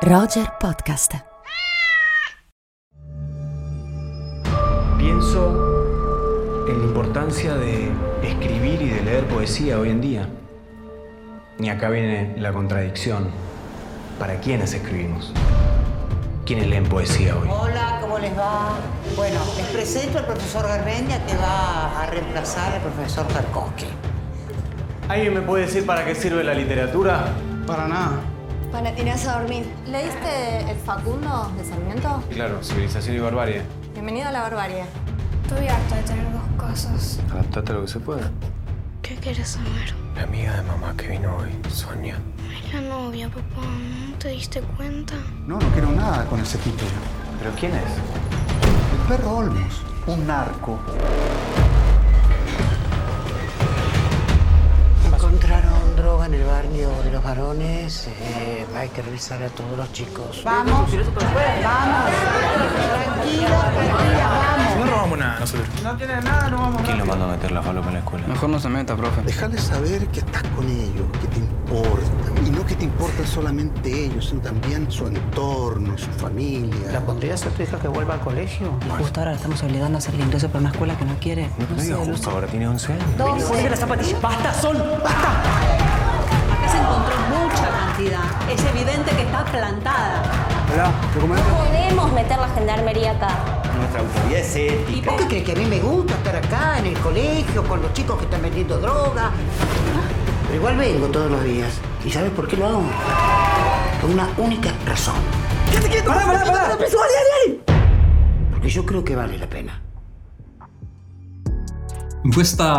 Roger Podcast. Pienso en la importancia de escribir y de leer poesía hoy en día. Y acá viene la contradicción. ¿Para quiénes escribimos? ¿Quiénes leen poesía hoy? Hola, ¿cómo les va? Bueno, les presento al profesor Garmendia, que va a reemplazar al profesor Tarkovsky. ¿Alguien me puede decir para qué sirve la literatura? Para nada. Para tirarse a dormir. ¿Leíste El Facundo de Sarmiento? Claro, civilización y barbarie. Bienvenido a la barbarie. Estoy harta de tener dos casas. Adaptate a lo que se pueda. ¿Qué quieres saber? La amiga de mamá que vino hoy, Sonia. Es la novia, papá. ¿No te diste cuenta? No quiero nada con ese tipo. ¿Pero quién es? El perro Olmos, un narco. Encontraron droga en el barrio de los varones. Hay que revisar a todos los chicos. Vamos, vamos. Tranquila, vamos. No robamos nada nosotros. No tiene nada, no vamos a... ¿Quién lo mandó a meter la falopa en la escuela? Mejor no se meta, profe. Déjale saber que estás con ellos, que te importan. Y no que te importan solamente ellos, sino también su entorno, su familia. ¿La pondrías a tu hija que vuelva al colegio? Y justo ahora la estamos obligando a hacer el ingreso para una escuela que no quiere. No digas justo, ahora tiene 11 años. Ponle las zapatillas. ¡Basta, Sol! ¡Basta! Acá se encontró mucha cantidad. Es evidente que está plantada. Hola, ¿documento? No podemos meter la gendarmería acá. Nuestra autoridad es ética. ¿Por qué crees que a mí me gusta estar acá en el colegio con los chicos que están vendiendo droga? Pero igual vengo todos los días. ¿Y sabes por qué lo hago? Por una única razón. ¡Quédate quieto! ¡Pará! Porque yo creo que vale la pena. In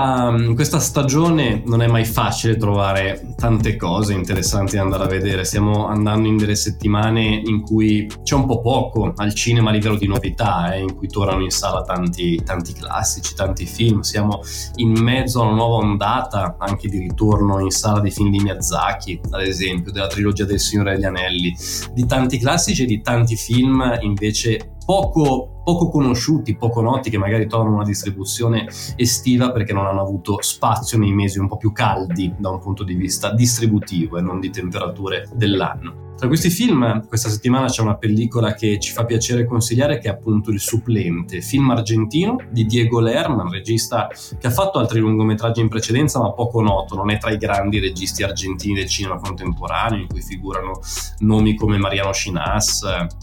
questa stagione non è mai facile trovare tante cose interessanti da andare a vedere. Stiamo andando in delle settimane in cui c'è un po' poco al cinema a livello di novità, in cui tornano in sala tanti classici, tanti film. Siamo in mezzo a una nuova ondata anche di ritorno in sala di film di Miyazaki, ad esempio, della trilogia del Signore degli Anelli, di tanti classici e di tanti film invece poco conosciuti, poco noti, che magari trovano una distribuzione estiva perché non hanno avuto spazio nei mesi un po' più caldi da un punto di vista distributivo e non di temperature dell'anno. Tra questi film, questa settimana c'è una pellicola che ci fa piacere consigliare, che è appunto Il Supplente, film argentino di Diego Lerman, regista che ha fatto altri lungometraggi in precedenza ma poco noto, non è tra i grandi registi argentini del cinema contemporaneo, in cui figurano nomi come Mariano Schinas,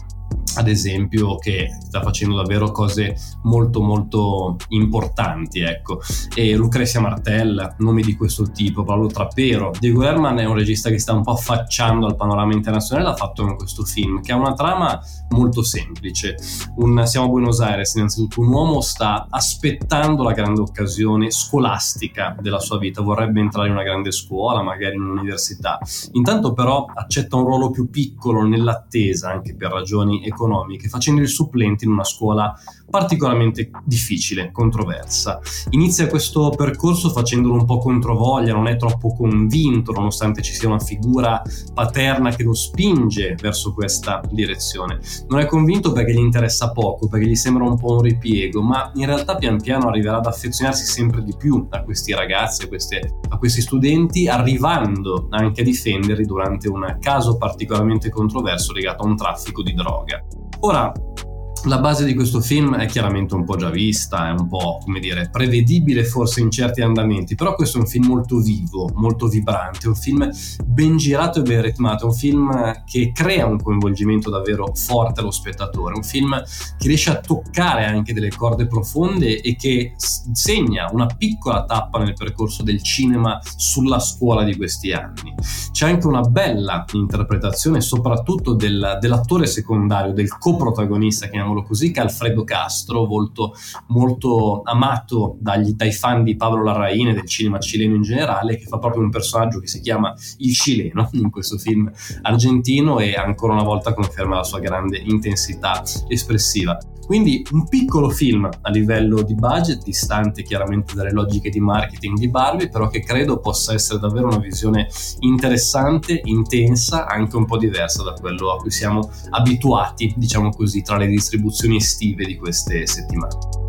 ad esempio, che sta facendo davvero cose molto molto importanti, ecco, e Lucrezia Martel, nomi di questo tipo, Paolo Trapero. Diego Lerman è un regista che sta un po' affacciando al panorama internazionale, l'ha fatto in questo film, che ha una trama molto semplice. Siamo a Buenos Aires, innanzitutto un uomo sta aspettando la grande occasione scolastica della sua vita, vorrebbe entrare in una grande scuola, magari in un'università, intanto però accetta un ruolo più piccolo nell'attesa, anche per ragioni economiche, facendo il supplente in una scuola particolarmente difficile, controversa. Inizia questo percorso facendolo un po' controvoglia, non è troppo convinto nonostante ci sia una figura paterna che lo spinge verso questa direzione. Non è convinto perché gli interessa poco, perché gli sembra un po' un ripiego, ma in realtà pian piano arriverà ad affezionarsi sempre di più a questi ragazzi, a questi studenti, arrivando anche a difenderli durante un caso particolarmente controverso legato a un traffico di droga. Ora, la base di questo film è chiaramente un po' già vista, è un po', come dire, prevedibile forse in certi andamenti, però questo è un film molto vivo, molto vibrante, un film ben girato e ben ritmato, un film che crea un coinvolgimento davvero forte allo spettatore, un film che riesce a toccare anche delle corde profonde e che segna una piccola tappa nel percorso del cinema sulla scuola di questi anni. C'è anche una bella interpretazione soprattutto dell'attore secondario, del coprotagonista, chiamiamolo così, che è Alfredo Castro, molto amato dai fan di Pablo Larraín e del cinema cileno in generale, che fa proprio un personaggio che si chiama il cileno in questo film argentino e ancora una volta conferma la sua grande intensità espressiva. Quindi un piccolo film a livello di budget, distante chiaramente dalle logiche di marketing di Barbie, però che credo possa essere davvero una visione interessante, intensa, anche un po' diversa da quello a cui siamo abituati, diciamo così, tra le distribuzioni estive di queste settimane.